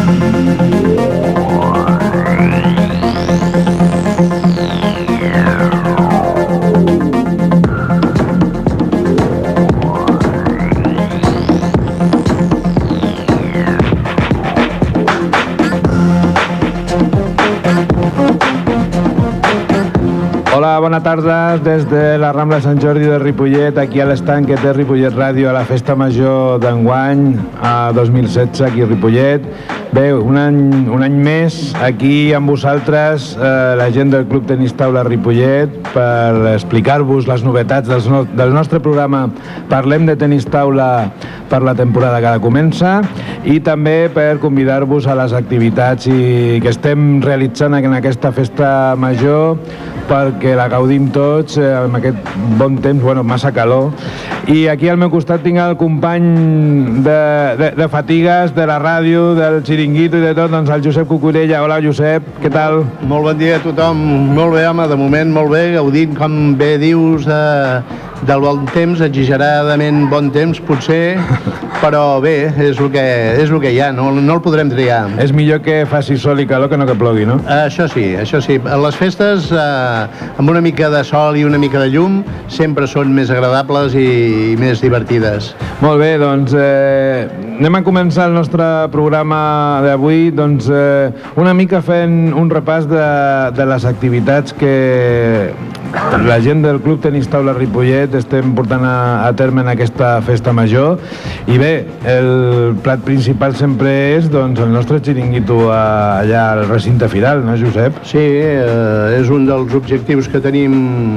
Hola, bona tarda des de la Rambla Sant Jordi de Ripollet, aquí a l'estanc que té Ripollet Ràdio a la Festa Major d'enguany, a 2016, aquí a Ripollet. Bé, un any més aquí amb vosaltres, la gent del Club Tenis Taula Ripollet, per explicar-vos les novetats del nostre programa Parlem de Tenis Taula per la temporada que ara comença, i també per convidar-vos a les activitats que estem realitzant en aquesta Festa Major, perquè la gaudim tots amb aquest bon temps, bueno, massa calor. I aquí al meu costat tinc el company de fatigues, de la ràdio, del xiringuito i de tot, doncs el Josep Cucurella. Hola, Josep, què tal? Molt bon dia a tothom. Molt bé, home, de moment molt bé, gaudint, com bé dius, del bon temps, exageradament bon temps, potser, però bé, és el que hi ha, no el podrem triar. És millor que faci sol i calor que no que plogui, no? Això sí. Les festes, amb una mica de sol i una mica de llum, sempre són més agradables i més divertides. Molt bé, doncs anem a començar el nostre programa d'avui, doncs una mica fent un repàs de les activitats que la gent del Club Tenis Taula Ripollet estem portant a terme en aquesta Festa Major. I bé, el plat principal sempre és doncs, el nostre xiringuito allà al recinte firal, no, Josep? Sí, és un dels objectius que tenim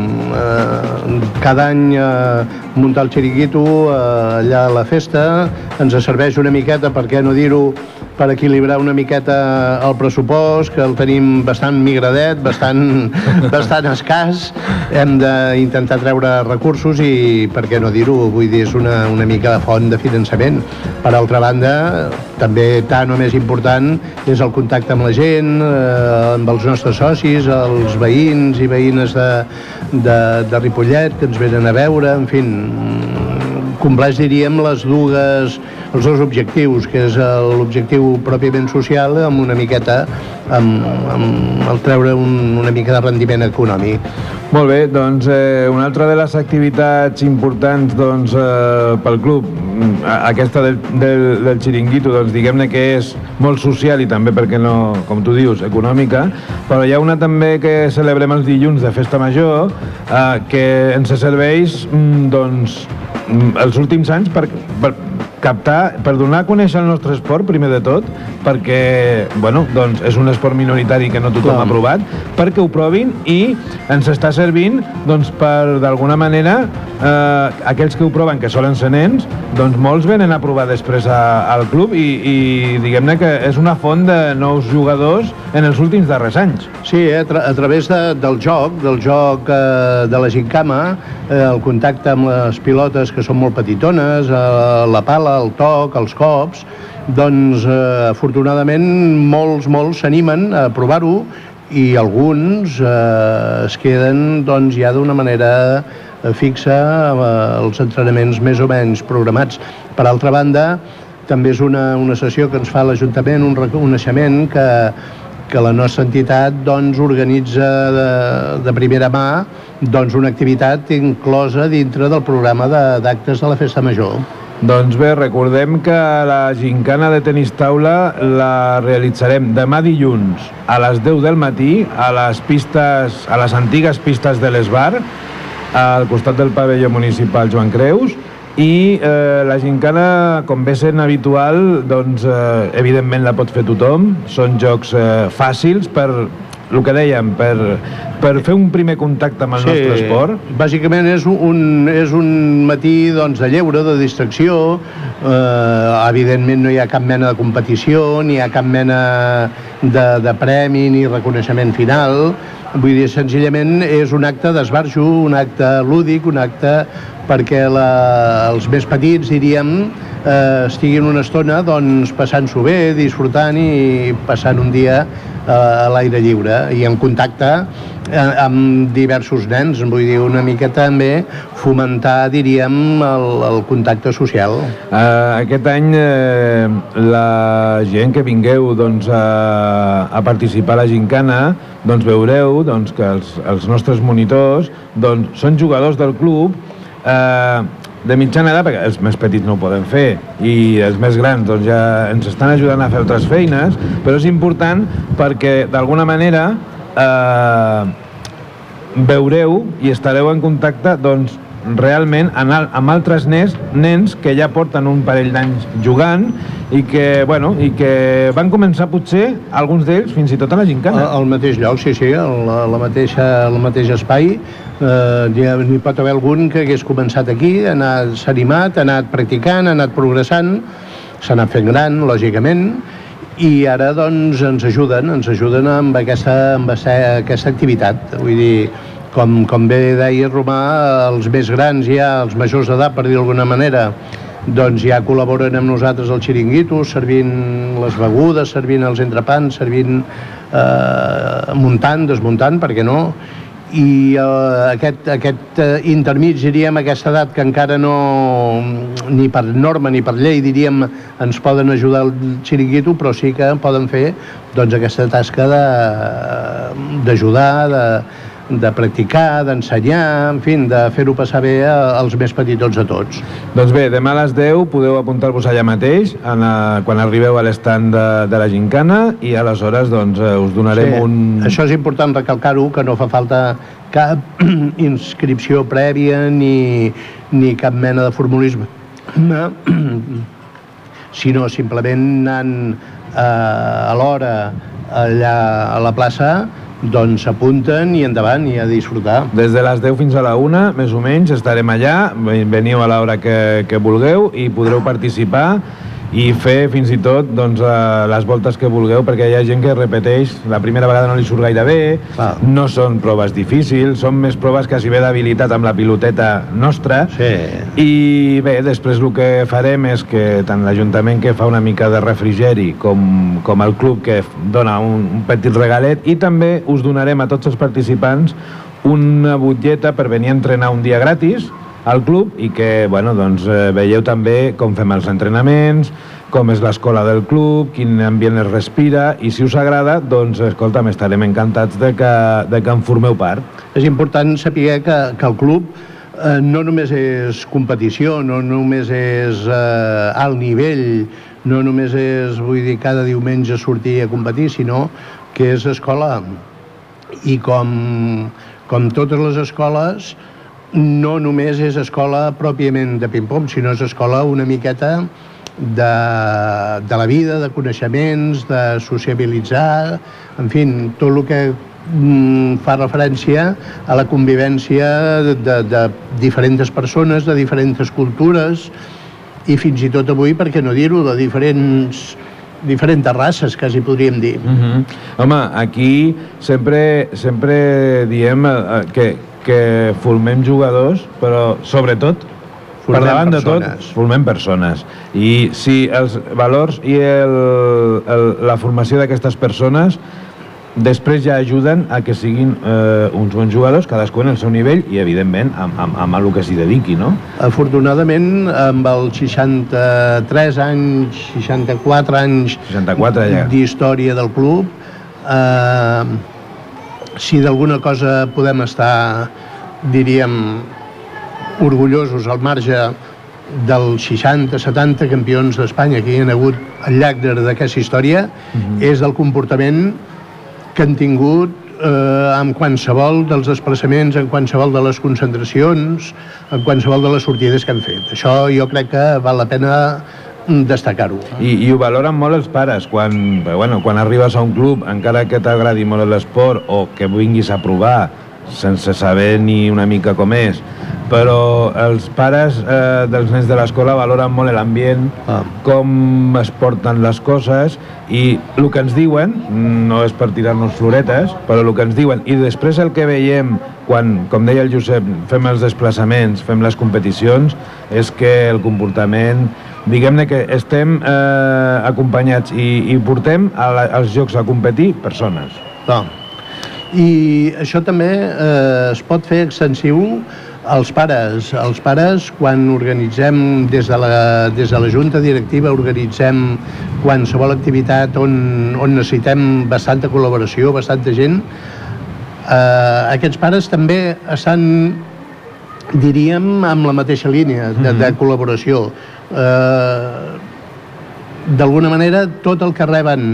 cada any, muntar el xiringuito allà a la festa. Ens serveix una miqueta, per què no dir-ho, per equilibrar una miqueta el pressupost, que el tenim bastant migradet, bastant escàs. Hem d'intentar treure recursos i, per què no dir-ho, vull dir, és una mica de font de finançament. Per altra banda, també tant o més important és el contacte amb la gent, amb els nostres socis, els veïns i veïnes de Ripollet que ens venen a veure, en fi, compleix, diríem, els dos objectius, que és l'objectiu pròpiament social amb una miqueta, amb el treure una mica de rendiment econòmic. Molt bé, doncs una altra de les activitats importants doncs, pel club, aquesta del xiringuito, doncs diguem-ne que és molt social i també, perquè no, com tu dius, econòmica, però hi ha una també que celebrem els dilluns de Festa Major, que ens serveix doncs els últims anys per captar, per donar a conèixer el nostre esport, primer de tot, perquè, bueno, doncs és un esport minoritari que no tothom ha provat, perquè ho provin i ens està servint, doncs, per, d'alguna manera, aquells que ho proven, que solen ser nens, doncs molts venen a provar després al club i diguem-ne que és una font de nous jugadors en els últims darrers anys. Sí, a través del joc de la gincama, el contacte amb les pilotes que són molt petitones, la pala, el toc, els cops, doncs afortunadament molts s'animen a provar-ho i alguns es queden doncs ja d'una manera fixa els entrenaments més o menys programats. Per altra banda, també és una sessió que ens fa l'Ajuntament, un reconeixement que la nostra entitat doncs, organitza de primera mà doncs, una activitat inclosa dintre del programa d'actes de la Festa Major. Doncs bé, recordem que la gincana de tenis taula la realitzarem demà dilluns a les 10 del matí a les antigues pistes de l'Esbar, al costat del pavelló municipal Joan Creus, i la gincana, com ve sent habitual, doncs evidentment la pot fer tothom. Són jocs fàcils per, el que dèiem, per fer un primer contacte amb el nostre esport. Bàsicament és un matí doncs, de lleure, de distracció. Evidentment no hi ha cap mena de competició, ni hi ha cap mena de premi ni reconeixement final. Vull dir, senzillament és un acte d'esbarjo, un acte lúdic, un acte perquè els més petits, diríem, estiguin una estona doncs, passant-s'ho bé, disfrutant i passant un dia a l'aire lliure i en contacte amb diversos nens, vull dir, una mica també fomentar, diríem, el contacte social. Aquest any la gent que vingueu doncs, a participar a la gincana, doncs veureu doncs, que els nostres monitors doncs, són jugadors del club de mitjana edat, perquè els més petits no ho poden fer i els més grans doncs, ja ens estan ajudant a fer altres feines, però és important perquè d'alguna manera veureu i estareu en contacte doncs, realment amb altres nens que ja porten un parell d'anys jugant i que van començar potser alguns d'ells fins i tot a la gincana. Al mateix lloc, sí, el mateix espai. N'hi pot haver algun que hagués començat aquí, s'ha animat, ha anat practicant, ha anat progressant, s'ha anat fent gran, lògicament, i ara doncs ens ajuden amb aquesta activitat. Vull dir, com bé deia Romà, els més grans ja, els majors d'edat, per dir d'alguna manera, doncs ja col·laboren amb nosaltres al xiringuito, servint les begudes, servint els entrepans, servint muntant, desmuntant, per què no? I aquest intermig, diríem, aquesta edat que encara no, ni per norma ni per llei, diríem, ens poden ajudar al xiringuito, però sí que poden fer doncs, aquesta tasca d'ajudar, de practicar, d'ensenyar, en fi, de fer-ho passar bé als més petitons de tots. Doncs bé, demà a les 10 podeu apuntar-vos allà mateix, quan arribeu a l'estand de la gincana, i aleshores doncs, us donarem un... Això és important recalcar-ho, que no fa falta cap inscripció prèvia ni cap mena de formulisme, sinó simplement anant a l'hora allà a la plaça, doncs s'apunten i endavant i a disfrutar. Des de les 10 fins a la 1, més o menys, estarem allà, veniu a l'hora que vulgueu i podreu participar i fer fins i tot doncs, les voltes que vulgueu, perquè hi ha gent que repeteix, la primera vegada no li surt gaire bé, no són proves difícils, són més proves quasi bé d'habilitat amb la piloteta nostra, i bé, després el que farem és que tant l'Ajuntament, que fa una mica de refrigeri, com el club, que dona un petit regalet, i també us donarem a tots els participants una butlleta per venir a entrenar un dia gratis al club i que, bueno, doncs, veieu també com fem els entrenaments, com és l'escola del club, quin ambient es respira, i si us agrada, doncs, escolta'm, estarem encantats de que en formeu part. És important saber que el club no només és competició, no només és alt nivell, no només és, vull dir, cada diumenge sortir a competir, sinó que és escola. I com totes les escoles, no només és escola pròpiament de ping-pong, sinó és escola una miqueta de la vida, de coneixements, de sociabilitzar, en fi, tot el que fa referència a la convivència de diferents persones, de diferents cultures, i fins i tot avui, per què no dir-ho, de diferents races, quasi podríem dir. Home, aquí sempre diem que formem jugadors, però sobretot, per davant de tot, formem persones. I si els valors i la formació d'aquestes persones després ja ajuden a que siguin uns bons jugadors, cadascú en el seu nivell i, evidentment, amb el que s'hi dediqui, no? Afortunadament, amb els 63 anys, 64 anys d'història del club, si d'alguna cosa podem estar, diríem, orgullosos al marge dels 60-70 campions d'Espanya que hi ha hagut al llarg d'aquesta història, és del comportament que han tingut en qualsevol dels desplaçaments, en qualsevol de les concentracions, en qualsevol de les sortides que han fet. Això jo crec que val la pena destacar-ho. I ho valoren molt els pares quan arribes a un club, encara que t'agradi molt l'esport o que vinguis a provar sense saber ni una mica com és, però els pares dels nens de l'escola valoren molt l'ambient, com es porten les coses, i el que ens diuen, no és per tirar-nos floretes, però el que ens diuen, i després el que veiem quan, com deia el Josep, fem els desplaçaments, fem les competicions, és que el comportament diguem-ne que estem acompanyats i portem als jocs a competir persones. I això també es pot fer extensiu als pares. Els pares, quan organitzem des de la Junta Directiva, organitzem qualsevol activitat on necessitem bastanta col·laboració, bastanta gent, aquests pares també estan, diríem, amb la mateixa línia de col·laboració. D'alguna manera, tot el que reben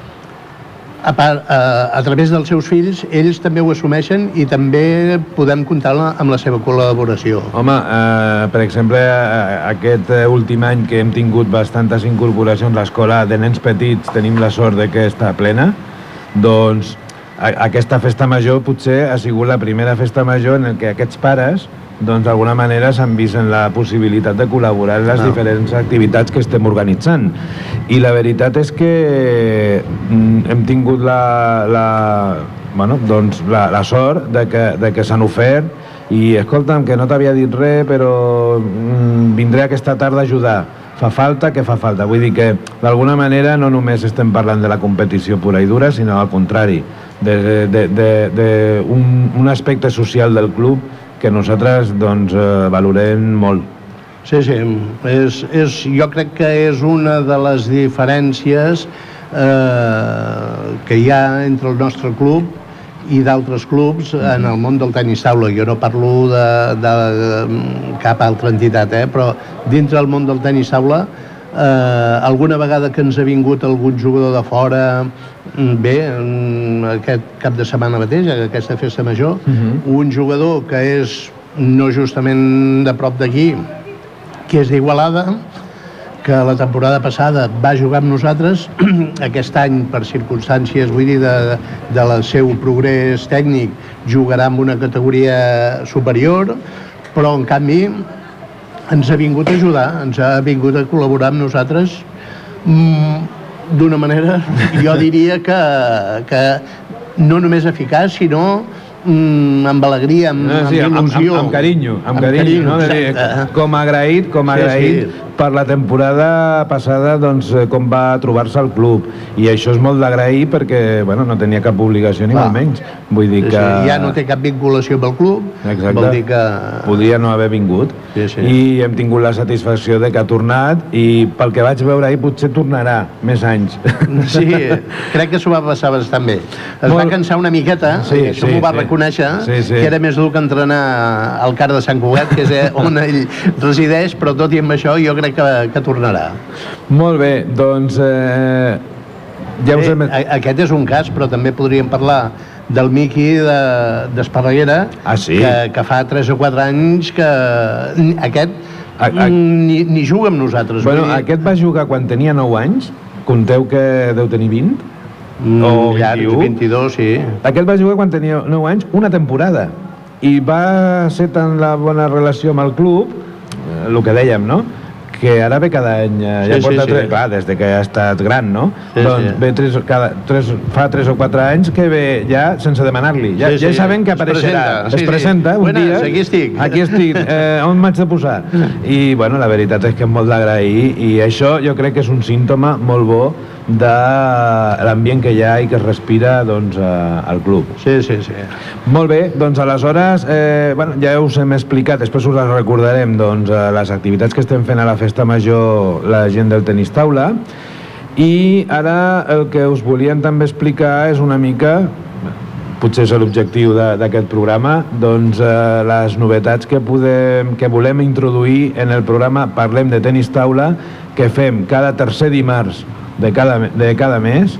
a través dels seus fills, ells també ho assumeixen i també podem comptar amb la seva col·laboració. Home, per exemple, aquest últim any que hem tingut bastantes incorporacions, l'escola de nens petits tenim la sort de que està plena, doncs aquesta festa major potser ha sigut la primera festa major en què aquests pares d'alguna manera s'han vist en la possibilitat de col·laborar en les diferents activitats que estem organitzant. I la veritat és que hem tingut la sort de que s'han ofert i, escolta'm, que no t'havia dit res, però vindré aquesta tarda a ajudar. Fa falta, que fa falta. Vull dir que, d'alguna manera, no només estem parlant de la competició pura i dura, sinó al contrari, d'un aspecte social del club que nosaltres valorem molt. Sí, jo crec que és una de les diferències que hi ha entre el nostre club i d'altres clubs en el món del tenis taula. Jo no parlo de cap altra entitat, però dintre del món del tenis taula, alguna vegada que ens ha vingut algun jugador de fora, bé, aquest cap de setmana mateix, aquesta festa major, un jugador que és no justament de prop d'aquí, que és d'Igualada, que la temporada passada va jugar amb nosaltres, aquest any, per circumstàncies, vull dir, del seu progrés tècnic, jugarà en una categoria superior, però, en canvi, ens ha vingut a ajudar, ens ha vingut a col·laborar amb nosaltres d'una manera, jo diria que no només eficaç, sinó amb alegria, amb il·lusió. Amb carinyo, no? Com agraït per la temporada passada, com va trobar-se el club. I això és molt d'agrair perquè no tenia cap obligació ni molt menys. Vull dir que... Ja no té cap vinculació amb el club. Exacte. Vol dir que... Podia no haver vingut. I hem tingut la satisfacció de que ha tornat i pel que vaig veure ahir potser tornarà més anys. Sí, crec que s'ho va passar bastant bé. Es va cansar una miqueta, això m'ho va reconèixer, que era més dur que entrenar al CAR de Sant Cugat, que és on ell resideix, però tot i amb això jo crec que tornarà. Molt bé, doncs aquest és un cas, però també podríem parlar del Miqui d'Esparreguera, que fa 3 o 4 anys que aquest ni juga amb nosaltres. Aquest va jugar quan tenia 9 anys, compteu que deu tenir 20 o 21. 22, sí. Aquest va jugar quan tenia 9 anys, una temporada, i va ser tan la bona relació amb el club, el que dèiem, no?, que ara ve cada any, clar, des que ha estat gran, no? Doncs fa 3 o 4 anys que ve ja sense demanar-li. Ja sabem que apareixerà. Es presenta un dia. Aquí estic. On m'haig de posar? I, la veritat és que és molt d'agrair i això jo crec que és un símptoma molt bo de l'ambient que hi ha i que es respira al club. Sí. Molt bé, doncs aleshores ja us hem explicat, després us les recordarem, les activitats que estem fent a la festa major la gent del tenis taula, i ara el que us volíem també explicar és una mica, potser és l'objectiu d'aquest programa, les novetats que volem introduir en el programa Parlem de Tenis Taula, que fem cada tercer dimarts de cada mes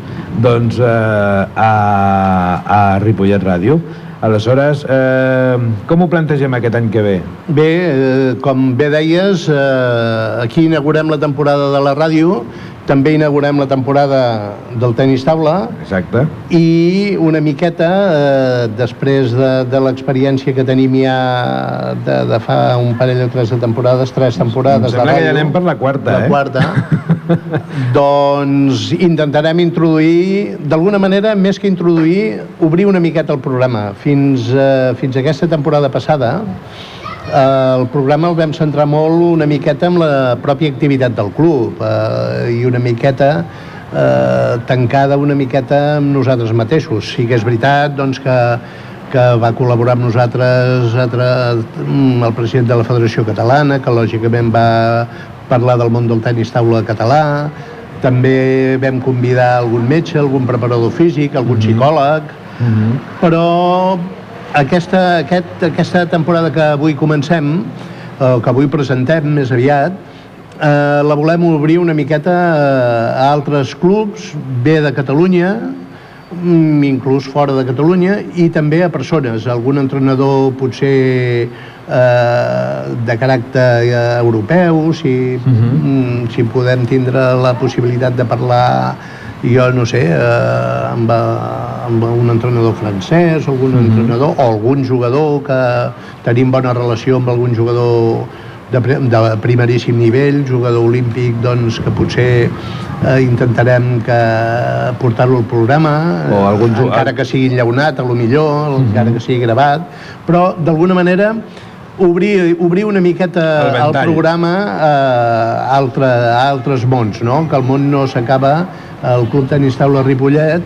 a Ripollet Ràdio. Aleshores, com ho plantegem aquest any que ve? Bé, com bé deies, aquí inaugurem la temporada de la ràdio, també inaugurem la temporada del tenis taula. Exacte. I una miqueta, després de l'experiència que tenim ja de fa un parell o 3 temporades de ràdio... Em sembla que ja anem per la quarta, La quarta. Doncs intentarem introduir, d'alguna manera, més que introduir, obrir una miqueta el programa. Fins a aquesta temporada passada El programa el vam centrar molt una miqueta en la pròpia activitat del club i una miqueta tancada una miqueta amb nosaltres mateixos. Sí que és veritat doncs, que va col·laborar amb nosaltres el president de la Federació Catalana, que lògicament va parlar del món del tenis taula català. També vam convidar algun metge, algun preparador físic, algun psicòleg, però aquesta temporada que avui comencem, que avui presentem més aviat, la volem obrir una miqueta a altres clubs, bé de Catalunya, inclús fora de Catalunya, i també a persones, algun entrenador potser de caràcter europeu, si podem tindre la possibilitat de parlar, jo no sé, amb un entrenador francès, algun entrenador, o algun jugador que tenim bona relació amb algun jugador de primeríssim nivell, jugador olímpic, doncs que potser intentarem portar-lo al programa, encara que sigui enllaunat, a lo millor, encara que sigui gravat, però d'alguna manera obrir una miqueta el programa a altres mons, no? Que el món no s'acaba al Club Tenis Taula Ripollet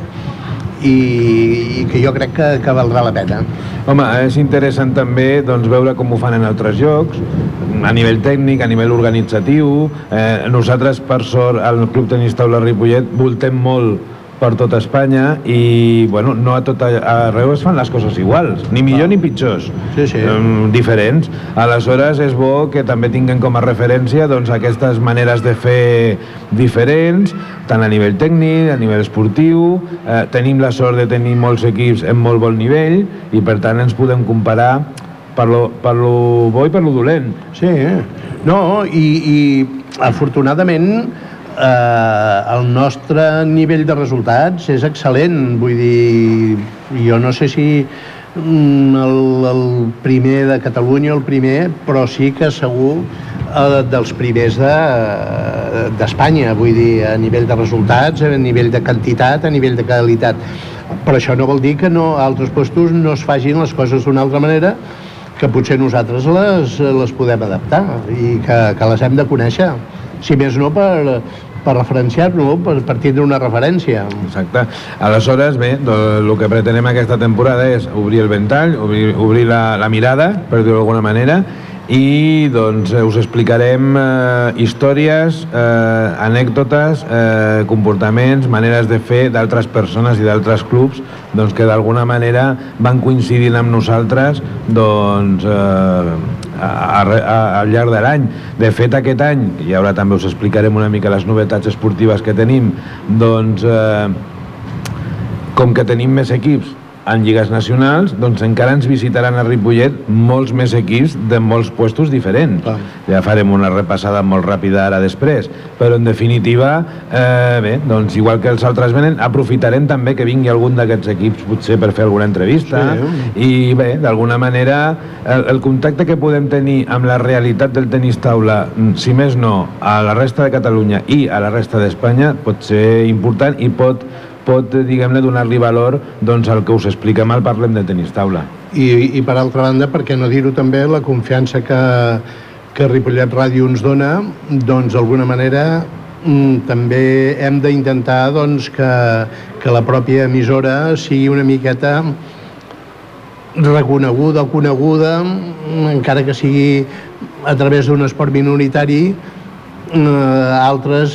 i que jo crec que valdrà la pena. Home, és interessant també doncs, veure com ho fan en altres llocs, a nivell tècnic, a nivell organitzatiu. Nosaltres, per sort, al Club Tenis Taula Ripollet voltem molt per tota Espanya i, bueno, no a tot arreu es fan les coses iguals, ni millor ni pitjors, diferents. Aleshores és bo que també tinguem com a referència doncs, aquestes maneres de fer diferents, tant a nivell tècnic, a nivell esportiu. Tenim la sort de tenir molts equips en molt bon nivell i per tant ens podem comparar per lo bo i per lo dolent. Sí, no, i afortunadament el nostre nivell de resultats és excel·lent. Vull dir, jo no sé si el primer de Catalunya, però sí que segur dels primers d'Espanya, vull dir, a nivell de resultats, a nivell de quantitat, a nivell de qualitat. Però això no vol dir que a altres puestos no es facin les coses d'una altra manera, que potser nosaltres les podem adaptar i que les hem de conèixer, si més no per referenciar-nos, per tindre una referència. Exacte. Aleshores, bé, el que pretenem aquesta temporada és obrir el ventall, obrir la mirada, per dir-ho d'alguna manera, i doncs us explicarem històries, anècdotes, comportaments, maneres de fer d'altres persones i d'altres clubs doncs, que d'alguna manera van coincidint amb nosaltres doncs, al llarg de l'any. De fet, aquest any, i ara també us explicarem una mica les novetats esportives que tenim, doncs, com que tenim més equips en lligues nacionals, doncs encara ens visitaran a Ripollet molts més equips de molts puestos diferents. Ja farem una repassada molt ràpida ara després, però en definitiva, bé, doncs igual que els altres venen, aprofitarem també que vingui algun d'aquests equips potser per fer alguna entrevista i bé, d'alguna manera el contacte que podem tenir amb la realitat del tenis taula, si més no, a la resta de Catalunya i a la resta d'Espanya pot ser important i pot diguem-ne, donar-li valor doncs, al que us expliquem al Parlem de Tenis Taula. I per altra banda, per què no dir-ho també, la confiança que Ripollet Ràdio ens dona, doncs d'alguna manera també hem d'intentar doncs, que la pròpia emissora sigui una miqueta reconeguda o coneguda, encara que sigui a través d'un esport minoritari, altres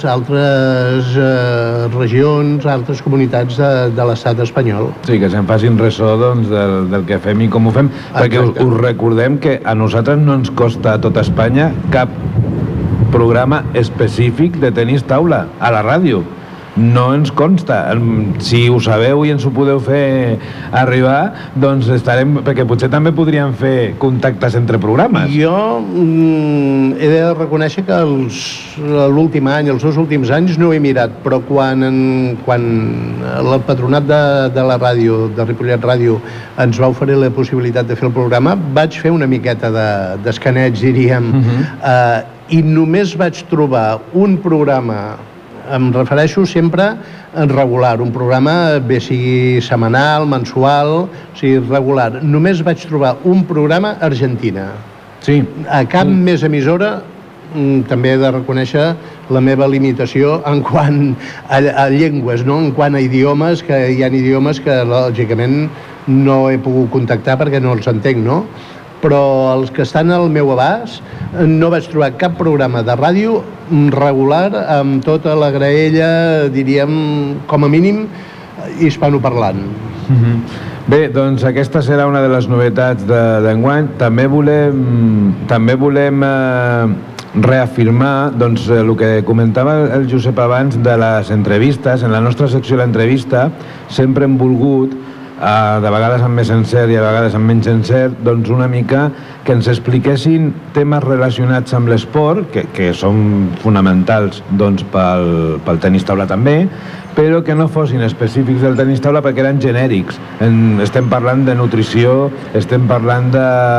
regions, altres comunitats de l'estat espanyol. Sí, que se'n facin ressò doncs, del que fem i com ho fem, perquè us recordem que a nosaltres no ens costa a tota Espanya cap programa específic de tenis taula a la ràdio. No ens consta. Si ho sabeu i ens ho podeu fer arribar, doncs estarem... Perquè potser també podríem fer contactes entre programes. Jo he de reconèixer que l'últim any, els 2 últims anys, no ho he mirat, però quan el patronat de la ràdio, de Ripollet Ràdio, ens va oferir la possibilitat de fer el programa, vaig fer una miqueta d'escaneig, diríem, i només vaig trobar un programa, em refereixo sempre en regular, un programa bé sigui setmanal, mensual, o sigui regular. Només vaig trobar un programa a Argentina. Sí. A cap més emissora també he de reconèixer la meva limitació en quant a llengües, no? En quant a idiomes, que hi ha idiomes que lògicament no he pogut contactar perquè no els entenc, no? Però els que estan al meu abast no vaig trobar cap programa de ràdio regular amb tota la graella, diríem, com a mínim, hispanoparlant. Bé, doncs aquesta serà una de les novetats d'enguany. També volem reafirmar doncs, el que comentava el Josep abans de les entrevistes. En la nostra secció de l'entrevista sempre hem volgut, de vegades amb més encert i a vegades amb menys encert, doncs una mica que ens expliquessin temes relacionats amb l'esport, que són fonamentals doncs, pel tenis taula també, però que no fossin específics del tenis taula perquè eren genèrics. Estem parlant de nutrició, estem parlant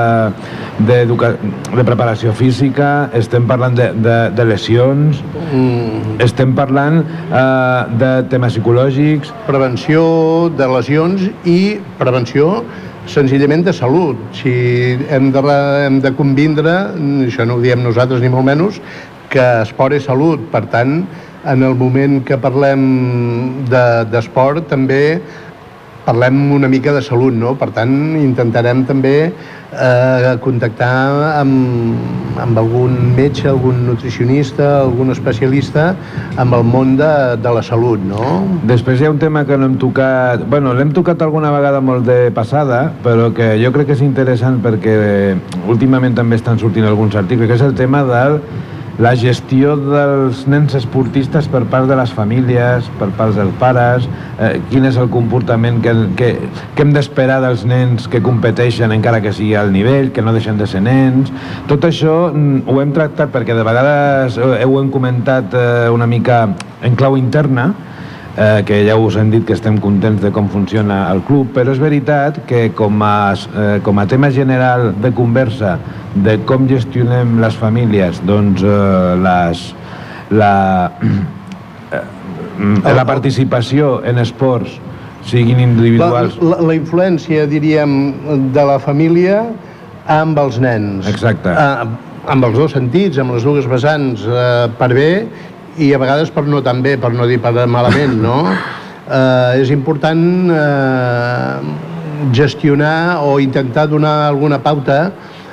de preparació física, estem parlant de lesions, estem parlant de temes psicològics. Prevenció de lesions i prevenció senzillament de salut. Si hem de convindre, això no ho diem nosaltres ni molt menys, que esport és salut. Per tant, en el moment que parlem d'esport també parlem una mica de salut, no? Per tant, intentarem també contactar amb algun metge, algun nutricionista, algun especialista amb el món de la salut, no? Després hi ha un tema que no hem tocat... Bueno, l'hem tocat alguna vegada molt de passada, però que jo crec que és interessant perquè últimament també estan sortint alguns articles, que és el tema de la gestió dels nens esportistes per part de les famílies, per part dels pares, quin és el comportament que hem d'esperar dels nens que competeixen encara que sigui al nivell, que no deixen de ser nens. Tot això ho hem tractat perquè de vegades ho hem comentat una mica en clau interna, que ja us hem dit que estem contents de com funciona el club, però és veritat que com a tema general de conversa de com gestionem les famílies, doncs la participació en esports, siguin individuals... La influència, diríem, de la família amb els nens. Exacte. Amb els dos sentits, amb les dues vessants, per bé, i a vegades per no tan bé, per no dir per malament, no? És important gestionar o intentar donar alguna pauta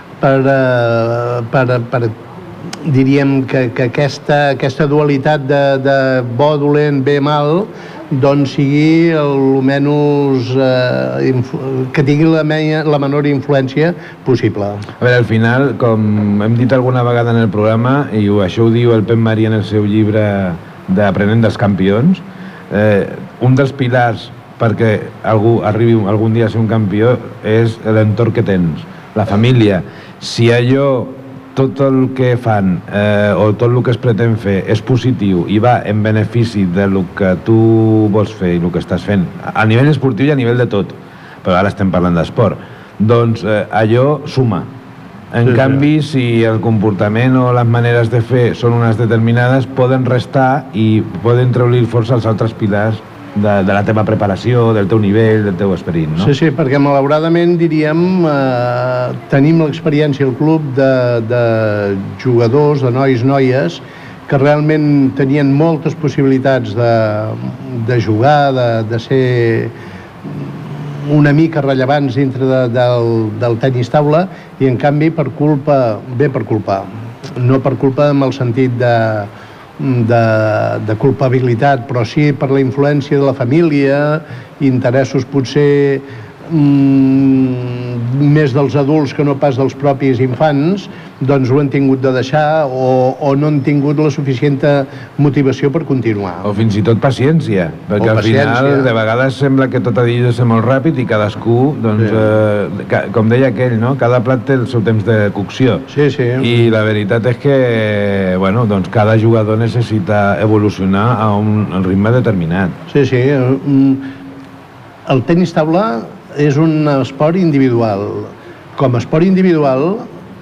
per diríem que aquesta dualitat de bo, dolent, bé, mal, doncs sigui almenys que tingui la menor influència possible. A veure, al final, com hem dit alguna vegada en el programa, i això ho diu el Pep Maria en el seu llibre d'Aprenent dels Campions, un dels pilars perquè algú arribi algun dia a ser un campió és l'entorn que tens, la família. Si allò, tot el que fan o tot el que es pretén fer és positiu i va en benefici del que tu vols fer i el que estàs fent, a nivell esportiu i a nivell de tot, però ara estem parlant d'esport, doncs allò suma. En canvi, si el comportament o les maneres de fer són unes determinades, poden restar i poden treure força als altres pilars de la teva preparació, del teu nivell, del teu esperit, no? Sí, perquè malauradament, diríem, tenim l'experiència al club de jugadors, de nois, noies, que realment tenien moltes possibilitats de jugar, de ser una mica rellevants dintre del tenis taula, i en canvi per culpa, no per culpa en el sentit de culpabilitat, però sí per la influència de la família, interessos potser més dels adults que no pas dels propis infants, doncs ho han tingut de deixar o no han tingut la suficient motivació per continuar. O fins i tot paciència, perquè al final de vegades sembla que tot ha de ser molt ràpid i cadascú, doncs, com deia aquell, no? Cada plat té el seu temps de cocció. Sí, sí. I la veritat és que, bueno, doncs cada jugador necessita evolucionar a un ritme determinat. Sí, sí. El tenis taula és un esport individual. Com a esport individual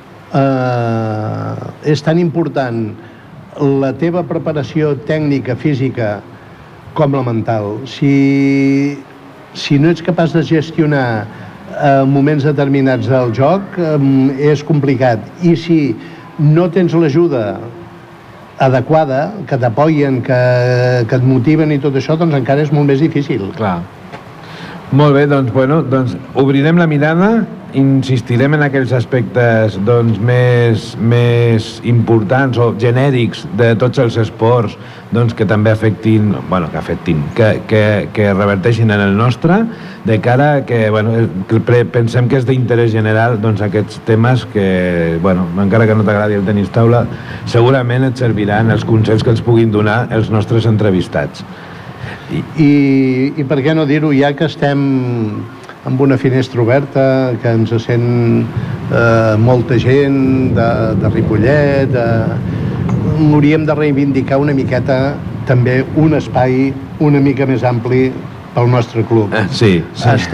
és tan important la teva preparació tècnica, física, com la mental. Si no ets capaç de gestionar en moments determinats del joc és complicat. I si no tens l'ajuda adequada, que t'apoyen, que et motiven i tot això, doncs encara és molt més difícil. Clar. Molt bé, doncs obrirem la mirada, insistirem en aquells aspectes més importants o genèrics de tots els esports que també afectin, que reverteixin en el nostre, de cara a que pensem que és d'interès general aquests temes que, encara que no t'agradi el tenis taula, segurament et serviran els consells que els puguin donar els nostres entrevistats. I per què no dir-ho, ja que estem amb una finestra oberta, que ens sent molta gent de Ripollet, hauríem de reivindicar una miqueta també un espai una mica més ampli pel nostre club. Sí.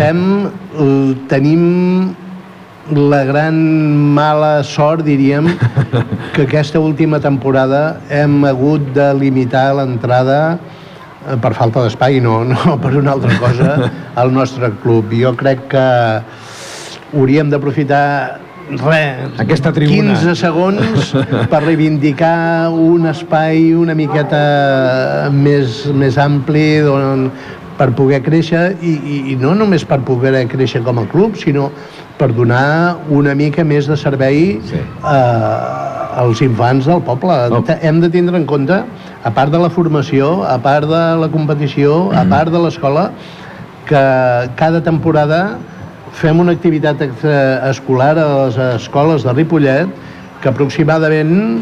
Tenim la gran mala sort, diríem, que aquesta última temporada hem hagut de limitar l'entrada per falta d'espai, no per una altra cosa, al nostre club. Jo crec que hauríem d'aprofitar aquesta tribuna, 15 segons per reivindicar un espai una miqueta més ampli per poder créixer, i no només per poder créixer com a club, sinó per donar una mica més de servei als infants del poble. Hem de tindre en compte, a part de la formació, a part de la competició, a part de l'escola, que cada temporada fem una activitat escolar a les escoles de Ripollet que aproximadament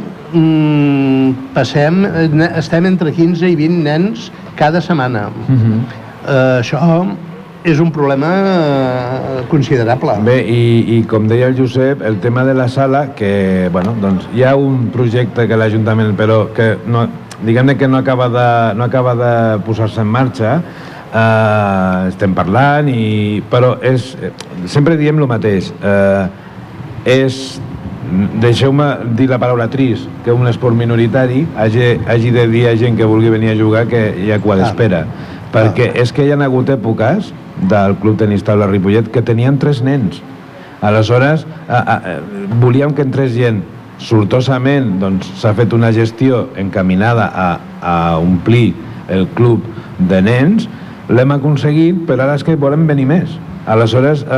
estem entre 15 i 20 nens cada setmana. Això és un problema considerable. Bé, i com deia el Josep, el tema de la sala, que hi ha un projecte que l'Ajuntament, però que diguem-ne que no acaba de posar-se en marxa. Estem parlant, però sempre diem el mateix. Deixeu-me dir la paraula trist, que un esport minoritari hagi de dir a gent que vulgui venir a jugar que hi ha cua d'espera, perquè és que hi ha hagut èpoques del Club Tenis Taula Ripollet que tenien 3 nens. Aleshores volíem que entrés gent. Sortosament s'ha fet una gestió encaminada a omplir el club de nens. L'hem aconseguit, però ara és que volem venir més. Aleshores,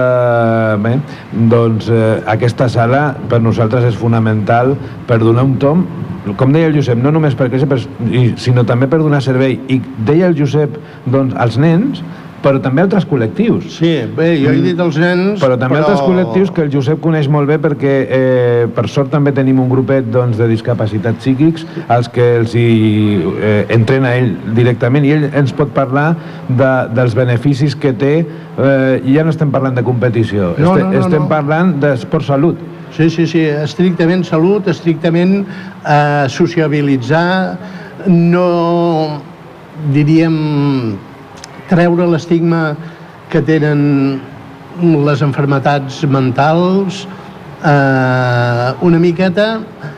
aquesta sala per nosaltres és fonamental per donar un tomb, com deia el Josep, no només per créixer, sinó també per donar servei. I deia el Josep, als nens, però també altres col·lectius. Sí, bé, jo he dit els nens... Però també altres col·lectius que el Josep coneix molt bé, perquè per sort també tenim un grupet de discapacitats psíquics als que els entrena ell directament, i ell ens pot parlar dels beneficis que té. Ja no estem parlant de competició, estem parlant d'esport salut. Sí, estrictament salut, estrictament sociabilitzar, no diríem treure l'estigma que tenen les malalties mentals, una miqueta,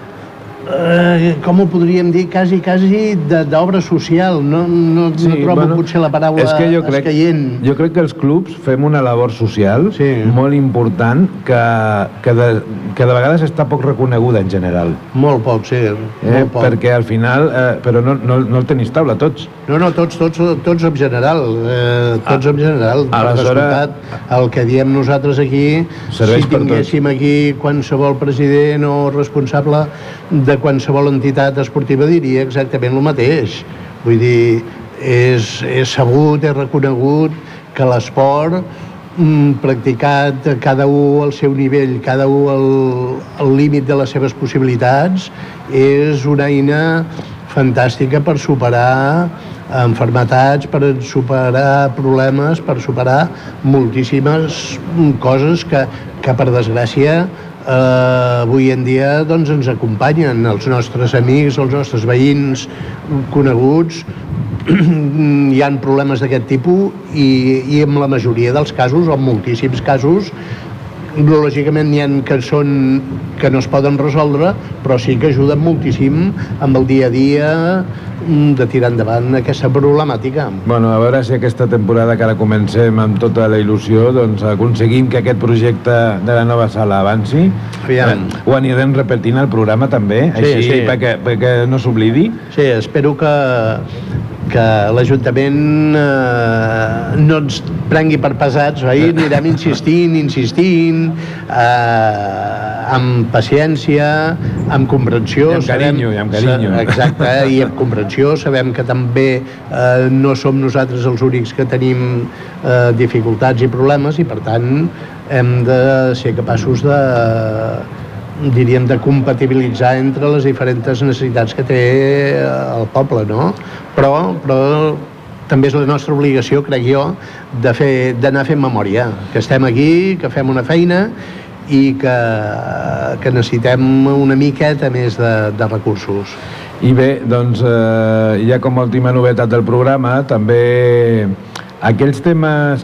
com ho podríem dir, quasi d'obra social. No trobo potser la paraula escaient. Jo crec que els clubs fem una labor social molt important que de vegades està poc reconeguda en general. Molt poc, sí. Perquè al final, però no el tenis taula, tots. No, tots en general. Tots en general. Aleshores, el que diem nosaltres aquí, si tinguéssim aquí qualsevol president o responsable de qualsevol entitat esportiva, diria exactament el mateix. Vull dir, és sabut, és reconegut que l'esport practicat cada un al seu nivell, cada un al límit de les seves possibilitats, és una eina fantàstica per superar malalties, per superar problemes, per superar moltíssimes coses que per desgràcia avui en dia ens acompanyen. Els nostres amics, els nostres veïns coneguts, hi ha problemes d'aquest tipus, i en la majoria dels casos, o en moltíssims casos, lògicament n'hi ha que no es poden resoldre, però sí que ajuden moltíssim amb el dia a dia de tirar endavant aquesta problemàtica. Bueno, a veure si aquesta temporada que ara comencem amb tota la il·lusió, doncs aconseguim que aquest projecte de la nova sala avanci. Ho anirem repetint al programa també, així perquè no s'oblidi. Sí, espero que l'Ajuntament no ens prengui per pesats, oi? Anirem insistint, amb paciència, amb comprensió. I amb carinyo. Exacte, i amb comprensió. Sabem que també no som nosaltres els únics que tenim dificultats i problemes i, per tant, hem de ser capaços de compatibilitzar entre les diferents necessitats que té el poble, no? Però també és la nostra obligació, crec jo, d'anar fent memòria, que estem aquí, que fem una feina i que necessitem una miqueta més de recursos. I bé, doncs, ja com a última novetat del programa, també aquells temes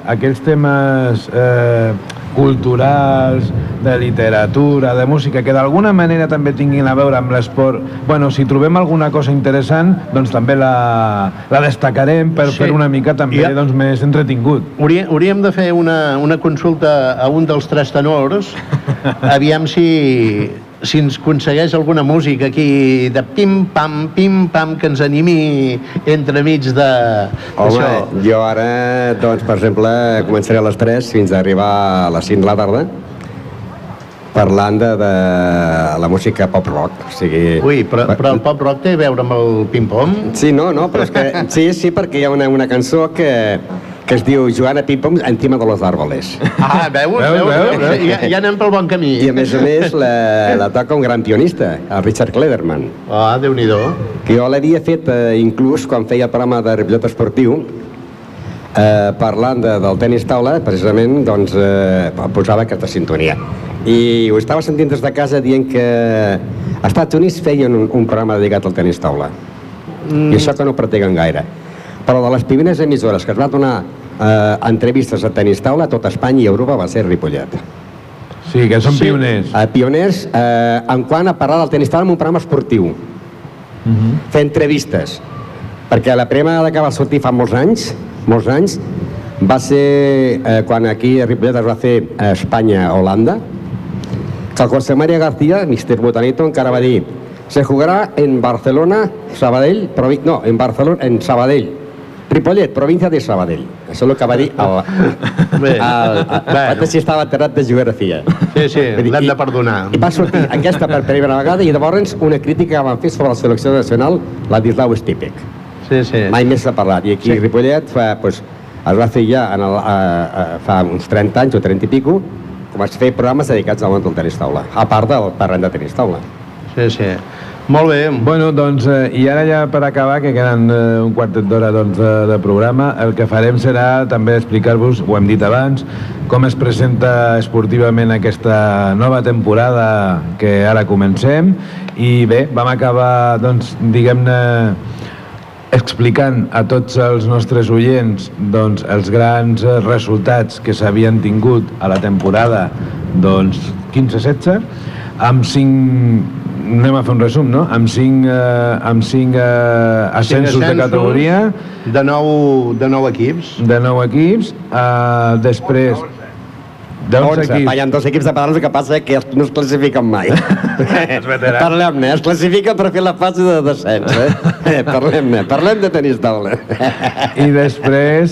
culturals, de literatura, de música, que d'alguna manera també tinguin a veure amb l'esport. Bueno, si trobem alguna cosa interessant, doncs també la destacarem per fer una mica també més entretingut. Hauríem de fer una consulta a un dels tres tenors, aviam si ens aconsegueix alguna música aquí de pim-pam, que ens animi entremig de... Home, jo ara, doncs, per exemple, començaré a les 3 fins a arribar a les 5 de la tarda parlant de la música pop-rock. Ui, però el pop-rock té a veure amb el pim-pom? Sí, no, però és que... Sí, perquè hi ha una cançó que es diu Joana Pim-pom encima de los árboles. Ah, veus? Ja anem pel bon camí. I a més la toca un gran pianista, el Richard Klederman. Ah, Déu-n'hi-do. Que jo l'havia fet inclús quan feia el programa de Ripollet Esportiu, parlant del tenis taula, precisament, doncs, posava aquesta sintonia. I ho estava sentint des de casa dient que als Estats Units feien un programa dedicat al tenis taula. I això que no pratiguen gaire. Però de les primeres emissores que es va donar entrevistes a tenis taula a tot Espanya i Europa va ser Ripollet. Sí, que són pioners. Pioners en quant a parlar del tenis taula en un programa esportiu. Fer entrevistes. Perquè la primera vegada que va sortir fa molts anys, va ser quan aquí a Ripollet es va fer Espanya-Holanda, que el José María García, Mr. Botanito, encara va dir: se jugará en Barcelona, Sabadell, en Sabadell, Ripollet, província de Sabadell. Això és el que va dir el si estava aterrat de geografia. Sí, l'hem de perdonar. I va sortir aquesta per primera vegada i llavors una crítica que van fer sobre la selecció nacional, Ladislau Stipek. Sí. Mai més s'ha parlat. I aquí a Ripollet es va fer ja fa uns 30 anys o 30 i pico, com es fer programes dedicats al món del tenis taula, a part del terreny de tenis taula. Sí. Molt bé. Bueno, doncs, i ara ja per acabar, que queden un quartet d'hora de programa, el que farem serà també explicar-vos, ho hem dit abans, com es presenta esportivament aquesta nova temporada que ara comencem. I bé, vam acabar, doncs, diguem-ne, explicant a tots els nostres oients doncs, els grans resultats que s'havien tingut a la temporada 15-16, amb 5... Anem a fer un resum, no? Amb 5 ascensos de categoria. De 9 equips. De 9 equips. Després... 11. Hi ha 2 equips de pedals, el que passa que no es classifiquen mai. Parlem-ne, es classifica per fer la fase de descens. Parlem de tenis taula. I després,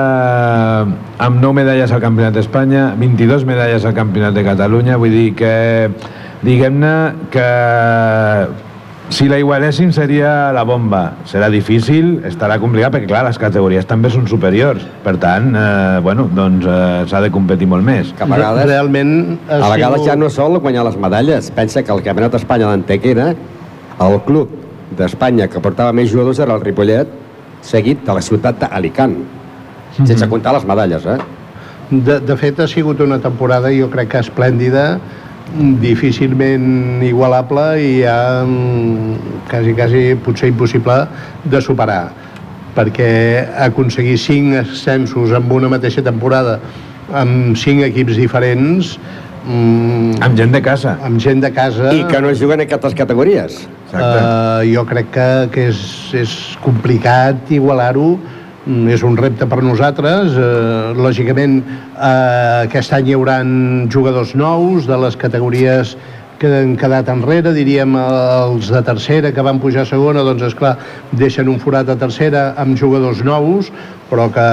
amb 9 medalles al Campionat d'Espanya, 22 medalles al Campionat de Catalunya, vull dir que, diguem-ne, que si la igualéssim seria la bomba. Serà difícil, estarà complicat, perquè clar, les categories també són superiors. Per tant, s'ha de competir molt més. Que a vegades, a vegades ja no sol guanyar les medalles. Pensa que el Campionat d'Espanya d'Antequera, el club d'Espanya que portava més jugadors era el Ripollet, seguit de la ciutat d'Alicant. Sense comptar les medalles, De fet, ha sigut una temporada, jo crec que esplèndida, difícilment igualable i ja quasi potser impossible de superar, perquè aconseguir 5 ascensos en una mateixa temporada amb 5 equips diferents Amb gent de casa. Amb gent de casa. I que no juguen en aquestes categories. Jo crec que és complicat igualar-ho. És un repte per nosaltres. Lògicament, aquest any hi haurà jugadors nous de les categories que han quedat enrere, diríem els de tercera que van pujar a segona, doncs esclar, deixen un forat a tercera amb jugadors nous, però que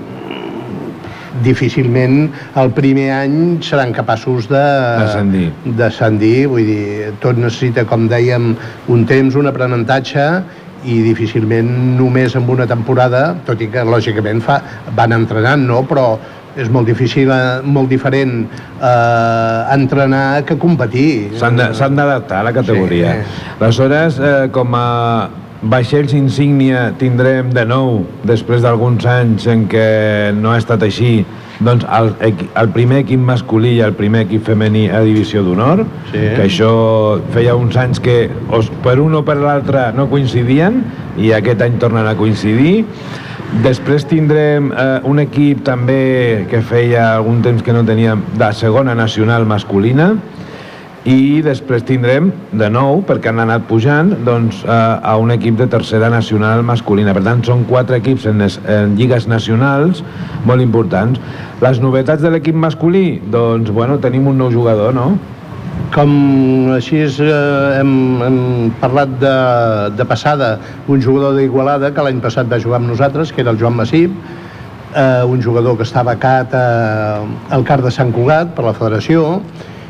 difícilment el primer any seran capaços d'ascendir. Vull dir, tot necessita, com dèiem, un temps, un aprenentatge, i difícilment només amb una temporada, tot i que lògicament van entrenant, no? Però és molt difícil, molt diferent entrenar que competir. S'han d'adaptar a la categoria. Sí. Aleshores, com a vaixells insígnia tindrem de nou, després d'alguns anys en què no ha estat així, doncs el primer equip masculí i el primer equip femení a divisió d'honor, que això feia uns anys que per un o per l'altre no coincidien i aquest any tornen a coincidir. Després tindrem un equip també que feia algun temps que no teníem de segona nacional masculina, i després tindrem de nou, perquè han anat pujant, doncs, a un equip de tercera nacional masculina. Per tant, són 4 equips en lligues nacionals molt importants. Les novetats de l'equip masculí? Doncs, bueno, tenim un nou jugador, no? Com així hem parlat de passada, un jugador d'Igualada que l'any passat va jugar amb nosaltres, que era el Joan Massip, un jugador que està becat al CAR de Sant Cugat per la federació,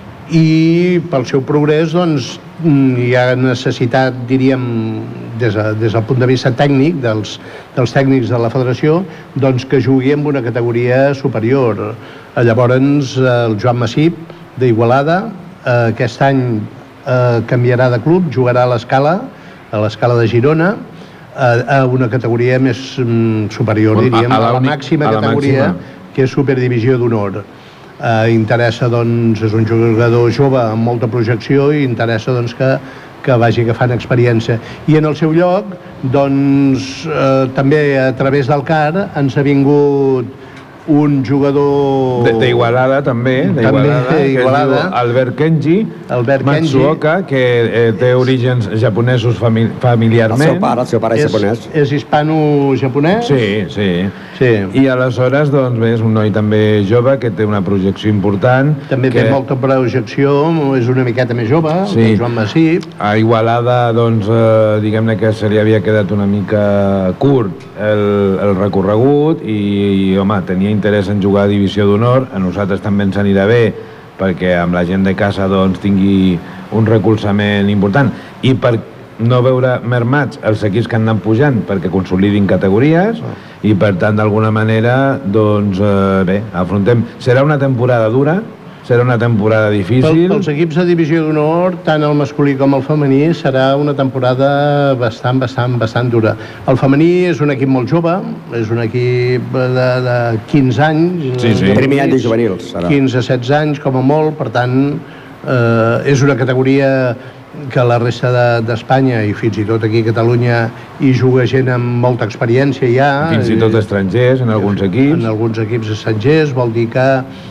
i pel seu progrés doncs, hi ha necessitat, diríem, des del punt de vista tècnic, dels tècnics de la federació, doncs que jugui en una categoria superior. Llavors, el Joan Massip, d'Igualada, aquest any canviarà de club, jugarà a l'Escala de Girona, a una categoria més superior, diríem, a la màxima categoria, que és Superdivisió d'Honor. Interessa, doncs, és un jugador jove amb molta projecció i interessa, doncs, que vagi agafant experiència. I en el seu lloc, doncs, també a través del CAR ens ha vingut un jugador... D'Igualada, també, d'Igualada, Albert Kenji Matsuoka, que té orígens japonesos familiarment. El seu pare és japonès. És hispano-japonès? Sí. I aleshores, doncs, bé, és un noi també jove que té una projecció important. També té molta projecció, és una miqueta més jove, el Joan Massip. A Igualada, doncs, diguem-ne que se li havia quedat una mica curt el recorregut i, home, tenia interès en jugar a divisió d'honor. A nosaltres també ens anirà bé perquè amb la gent de casa doncs tingui un recolzament important i per no veure mermats els equips que han anat pujant perquè consolidin categories i per tant d'alguna manera doncs bé, afrontem. Serà una temporada dura, serà una temporada difícil. Pels equips de divisió d'honor, tant el masculí com el femení, serà una temporada bastant dura. El femení és un equip molt jove, és un equip de 15 anys. Sí. Primer any de juvenils. 15-16 anys, com a molt, per tant, és una categoria que la resta d'Espanya i fins i tot aquí a Catalunya hi juga gent amb molta experiència ja. Fins i tot estrangers en alguns equips. En alguns equips estrangers, vol dir que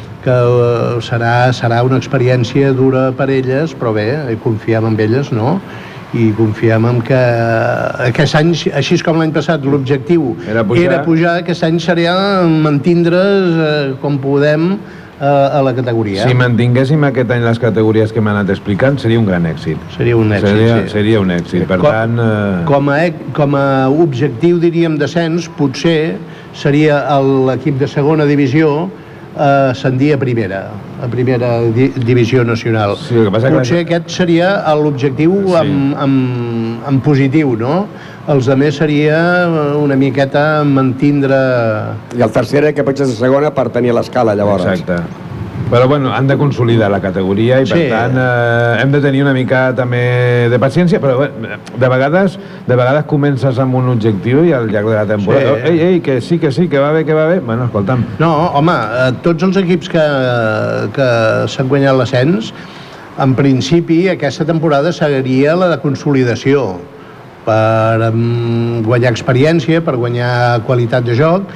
serà una experiència dura per elles, però bé, confiem en elles, no? I confiem en que aquest any, així com l'any passat, l'objectiu era pujar, aquest any seria mantindre's com podem a la categoria. Si mantinguéssim aquest any les categories que m'han anat explicant, seria un gran èxit. Seria un èxit, Seria un èxit, per tant... Com a objectiu, diríem, d'ascens, potser seria l'equip de segona divisió ascendir a primera divisió nacional. Sí, potser aquest seria l'objectiu en positiu, no? Els altres seria una miqueta mantindre... I el tercer que potser és a segona per tenir l'escala, llavors. Exacte. Però bueno, han de consolidar la categoria i per tant hem de tenir una mica també de paciència, però de vegades comences amb un objectiu i al llarg de la temporada que sí, que va bé. Bueno, escolta'm. No, home, tots els equips que s'han guanyat l'ascens, en principi aquesta temporada seria la de consolidació per guanyar experiència, per guanyar qualitat de joc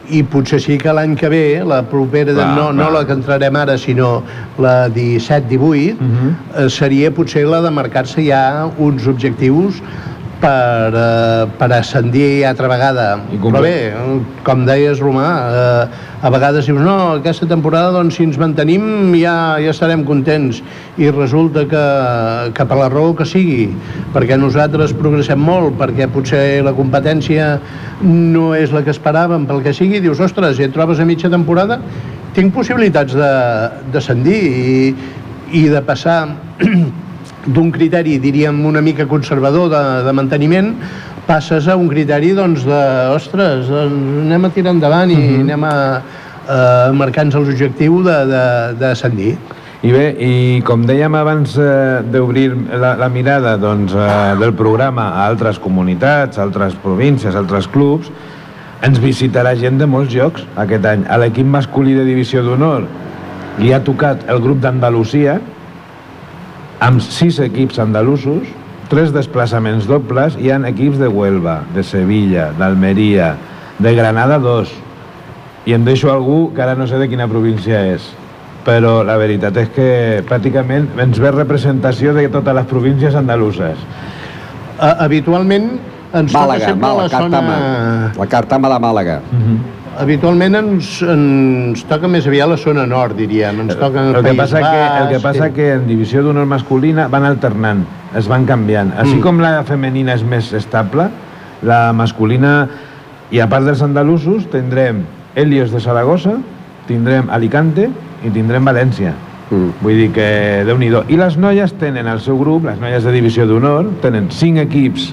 i potser sí que l'any que ve, la propera, no la que entrarem ara, sinó la 17-18, seria potser la de marcar-se ja uns objectius per ascendir altra vegada. Però bé, com deies, Romà, a vegades dius, no, aquesta temporada, doncs, si ens mantenim ja estarem contents, i resulta que per la raó que sigui, perquè nosaltres progressem molt, perquè potser la competència no és la que esperàvem, pel que sigui, dius, ostres, si et trobes a mitja temporada, tinc possibilitats d'ascendir i de passar d'un criteri, diríem, una mica conservador de manteniment, passes a un criteri, doncs, ostres, anem a tirar endavant i anem a marcar-nos l'objectiu d'ascendir. I bé, i com dèiem abans d'obrir la mirada del programa a altres comunitats, a altres províncies, a altres clubs, ens visitarà gent de molts llocs aquest any. A l'equip masculí de Divisió d'Honor li ha tocat el grup d'Andalusia, amb 6 equips andalusos, 3 desplaçaments dobles, hi ha equips de Huelva, de Sevilla, d'Almeria, de Granada 2, i em deixo algú que ara no sé de quina província és, però la veritat és que pràcticament ens ve representació de totes les províncies andaluses. Habitualment ens toca sempre la zona... La Cartama de Màlaga. Habitualment ens toca més aviat la zona nord, diríem. Ens toca el País Basc. El que passa que en Divisió d'Honor masculina van alternant, es van canviant. Així com la femenina és més estable, la masculina, i a part dels andalusos, tindrem Helios de Saragossa, tindrem Alicante i tindrem València. Vull dir que Déu-n'hi-do. I les noies tenen el seu grup, les noies de Divisió d'Honor, tenen 6 equips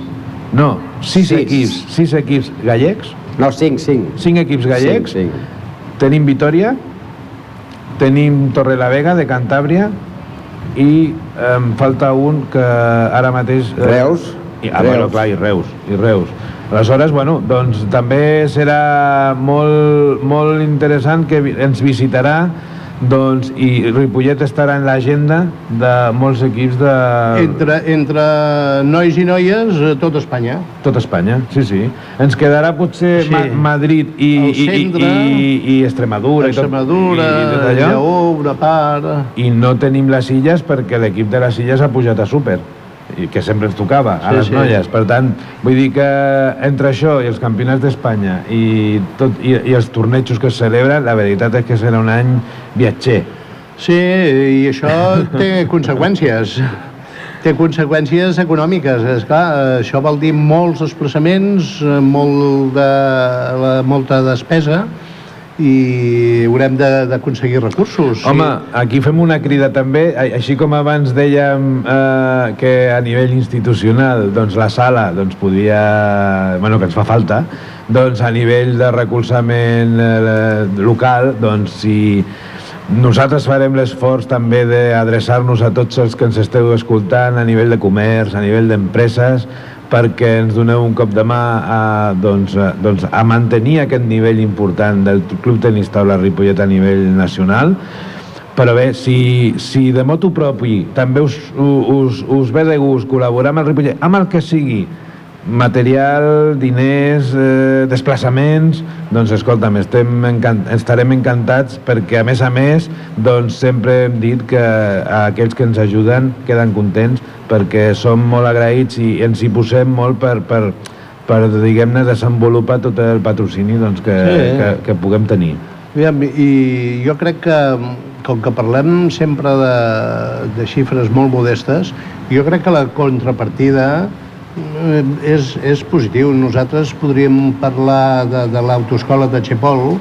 gallecs. No, 5. 5 equips gallecs. Tenim Vitoria, tenim Torrelavega de Cantàbria i em falta un que ara mateix... Reus. Bueno, clar, i Reus. Aleshores, bueno, doncs també serà molt interessant que ens visitarà, doncs, i Ripollet estarà en l'agenda de molts equips de... Entre nois i noies, tot Espanya. Tot Espanya, sí. Ens quedarà potser Madrid i Extremadura. Extremadura, Lleó, una part... I no tenim les Illes perquè l'equip de les Illes ha pujat a Súper, i que sempre ens tocava a les noies. Per tant, vull dir que entre això i els campionats d'Espanya i els tornejos que es celebren, la veritat és que serà un any viatger. Sí, i això té conseqüències. Té conseqüències econòmiques. Esclar, això vol dir molts desplaçaments, molta despesa, i haurem d'aconseguir recursos. Home, aquí fem una crida també, així com abans dèiem que a nivell institucional doncs la sala podia, bueno, que ens fa falta, doncs a nivell de recolzament local, doncs si nosaltres farem l'esforç també d'adreçar-nos a tots els que ens esteu escoltant a nivell de comerç, a nivell d'empreses, perquè ens doneu un cop de mà a mantenir aquest nivell important del Club Tenis Taula Ripollet a nivell nacional. Però bé, si de motu propi també us ve de gust col·laborar amb el Ripollet, amb el que sigui, material, diners, desplaçaments, doncs escolta'm, estarem encantats, perquè a més doncs sempre hem dit que aquells que ens ajuden queden contents, perquè som molt agraïts i ens hi posem molt per diguem-ne, desenvolupar tot el patrocini que puguem tenir. I jo crec que, com que parlem sempre de xifres molt modestes, jo crec que la contrapartida és positiu. Nosaltres podríem parlar de l'autoescola de Chepol,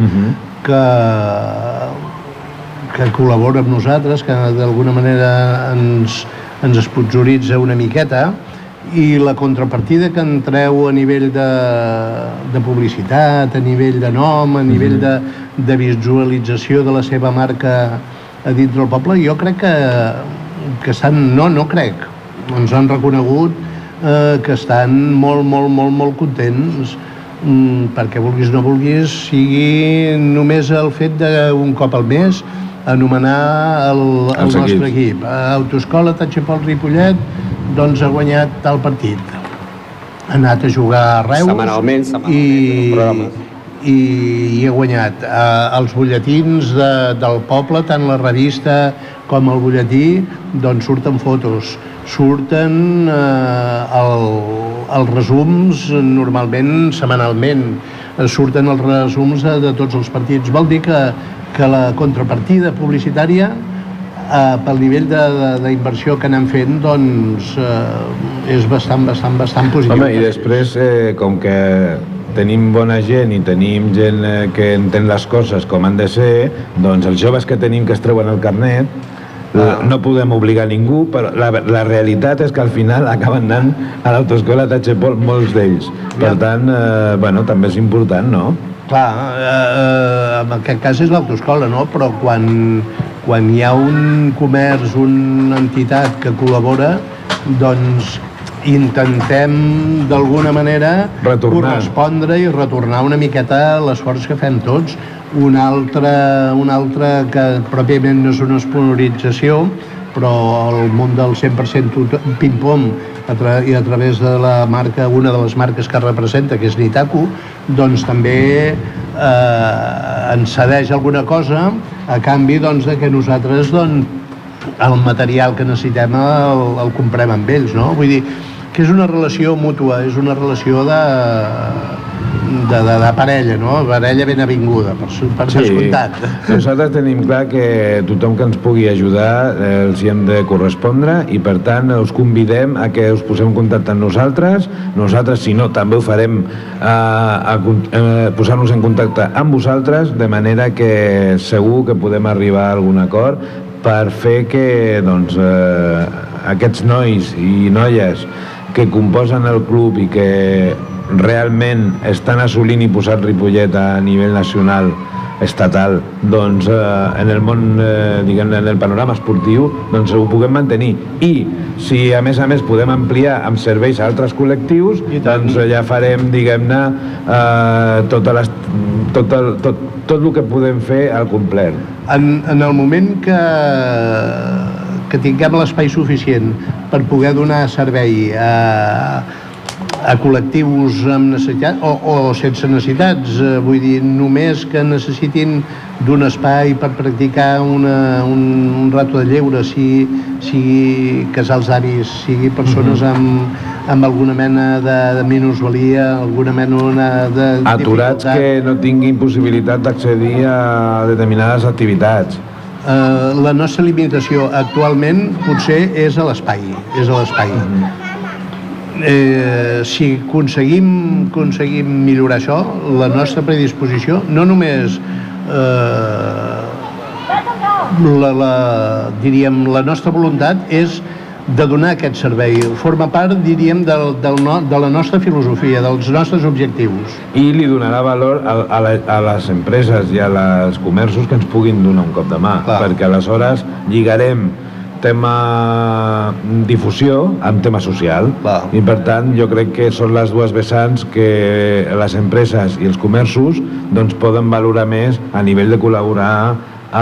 que col·labora amb nosaltres, que d'alguna manera ens esponsoritza una miqueta, i la contrapartida que en treu a nivell de publicitat, a nivell de nom, a nivell de visualització de la seva marca a dintre del poble, jo crec que estan... No crec, ens han reconegut que estan molt contents, perquè vulguis o no vulguis, sigui només el fet d'un cop al mes anomenar el nostre equip. Autoescola Tachepol Ripollet doncs ha guanyat tal partit. Ha anat a jugar a Reus setmanalment, i he guanyat. Els butlletins del poble, tant la revista com el butlletí, doncs surten fotos, surten els resums normalment setmanalment, surten els resums de tots els partits. Vol dir que la contrapartida publicitària pel nivell d'inversió que anem fent doncs és bastant positiu. Home, i després com que tenim bona gent i tenim gent que entén les coses com han de ser, doncs els joves que tenim que es treuen el carnet no podem obligar ningú, però la realitat és que al final acaben anant a l'autoescola Tachepol molts d'ells. Per tant, bueno, també és important, no? Clar, en aquest cas és l'autoescola, no? Però quan hi ha un comerç, una entitat que col·labora, doncs intentem d'alguna manera correspondre i retornar una miqueta l'esforç que fem tots. Un altre que pròpiament no és una esponsorització, però el món del 100% ping-pong i a través de la marca, una de les marques que representa, que és Nitaku, doncs també ens cedeix alguna cosa a canvi doncs, de que nosaltres el material que necessitem el comprem amb ells, no? Vull dir que és una relació mútua, és una relació de parella, no? Parella ben avinguda, per descomptat. Nosaltres tenim clar que tothom que ens pugui ajudar els hi hem de correspondre i per tant us convidem a que us poseu en contacte amb nosaltres. Nosaltres, si no, també ho farem posar-nos en contacte amb vosaltres, de manera que segur que podem arribar a algun acord per fer que doncs, aquests nois i noies que composen el club i que realment estan assolint i posant Ripollet a nivell nacional, estatal, doncs en el món, diguem-ne, en el panorama esportiu, doncs ho puguem mantenir. I si a més podem ampliar amb serveis a altres col·lectius, doncs ja farem, diguem-ne, tot el que podem fer al complet. En el moment que tinguem l'espai suficient per poder donar servei a col·lectius amb necessitats o sense necessitats, vull dir, només que necessitin d'un espai per practicar un rato de lleure, sigui casals d'avis, sigui persones amb alguna mena de minusvalia, alguna mena de aturats que no tinguin possibilitat d'accedir a determinades activitats. La nostra limitació actualment potser és a l'espai. Si aconseguim millorar això, la nostra predisposició, no només la nostra voluntat és de donar aquest servei. Forma part, diríem, de la nostra filosofia, dels nostres objectius. I li donarà valor a les empreses i als comerços que ens puguin donar un cop de mà, perquè aleshores lligarem tema difusió amb tema social. I per tant jo crec que són les dues vessants que les empreses i els comerços doncs poden valorar més a nivell de col·laborar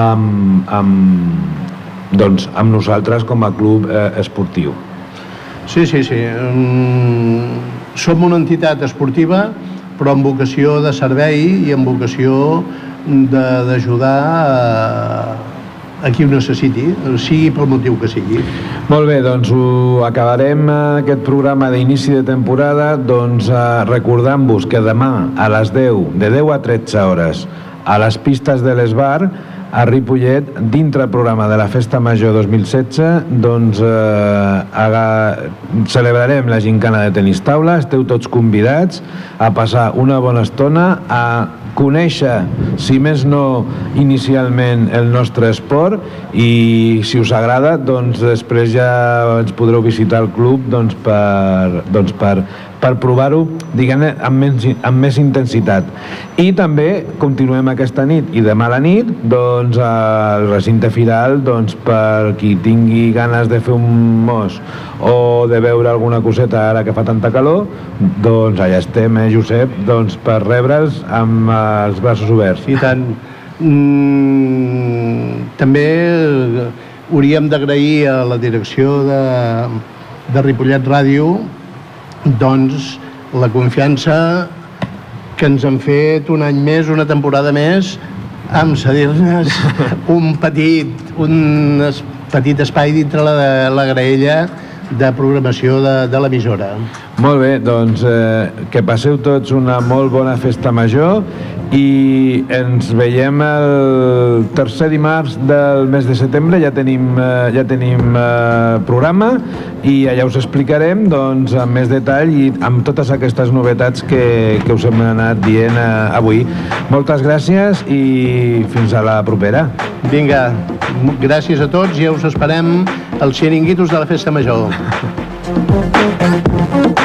amb nosaltres com a club esportiu. Sí. Som una entitat esportiva però amb vocació de servei i amb vocació d'ajudar a qui ho necessiti, sigui pel motiu que sigui. Molt bé, doncs acabarem aquest programa d'inici de temporada recordant-vos que demà a les 10, de 10 a 13 hores, a les pistes de l'Esbar, a Ripollet, dintre el programa de la Festa Major 2016, doncs celebrarem la gincana de tenis taula. Esteu tots convidats a passar una bona estona, a conèixer, si més no inicialment, el nostre esport, i si us agrada, doncs després ja ens podreu visitar el club per provar-ho, diguem-ne, amb més intensitat. I també continuem aquesta nit i demà a la nit doncs al recinte firal, doncs per qui tingui ganes de fer un mos o de veure alguna coseta ara que fa tanta calor, doncs allà estem, Josep, doncs per rebre'ls amb els braços oberts. I tant. També hauríem d'agrair a la direcció de Ripollet Ràdio doncs la confiança que ens han fet un any més, una temporada més, amb cedir-nos un petit espai dintre la graella de programació de l'emissora. Molt bé, doncs que passeu tots una molt bona festa major i ens veiem el tercer dimarts del mes de setembre. Ja tenim programa i allà us explicarem doncs, amb més detall i amb totes aquestes novetats que us hem anat dient avui. Moltes gràcies i fins a la propera. Vinga, gràcies a tots i ja us esperem als xiringuitos de la Festa Major.